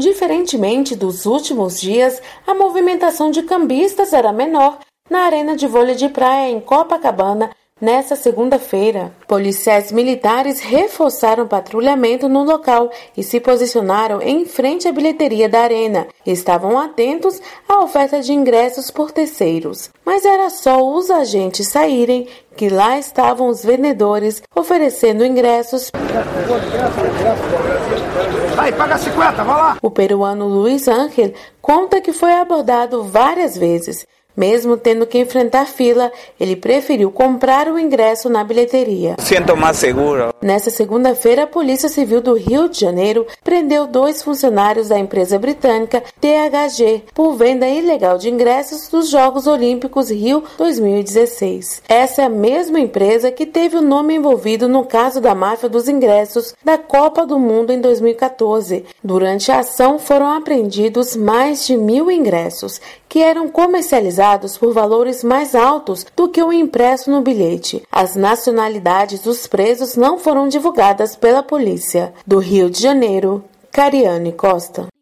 Diferentemente dos últimos dias, a movimentação de cambistas era menor na arena de vôlei de praia em Copacabana nesta segunda-feira. Policiais militares reforçaram o patrulhamento no local e se posicionaram em frente à bilheteria da arena. Estavam atentos à oferta de ingressos por terceiros. Mas era só os agentes saírem que lá estavam os vendedores oferecendo ingressos. Aí, paga 50, vai lá! O peruano Luiz Ángel conta que foi abordado várias vezes. Mesmo tendo que enfrentar fila, ele preferiu comprar o ingresso na bilheteria. Sinto mais seguro. Nesta segunda-feira, a Polícia Civil do Rio de Janeiro prendeu 2 funcionários da empresa britânica THG por venda ilegal de ingressos dos Jogos Olímpicos Rio 2016. Essa é a mesma empresa que teve o nome envolvido no caso da máfia dos ingressos da Copa do Mundo em 2014. Durante a ação, foram apreendidos mais de 1.000 ingressos, que eram comercializados por valores mais altos do que o impresso no bilhete. As nacionalidades dos presos não foram divulgadas pela polícia. Do Rio de Janeiro, Cariane Costa.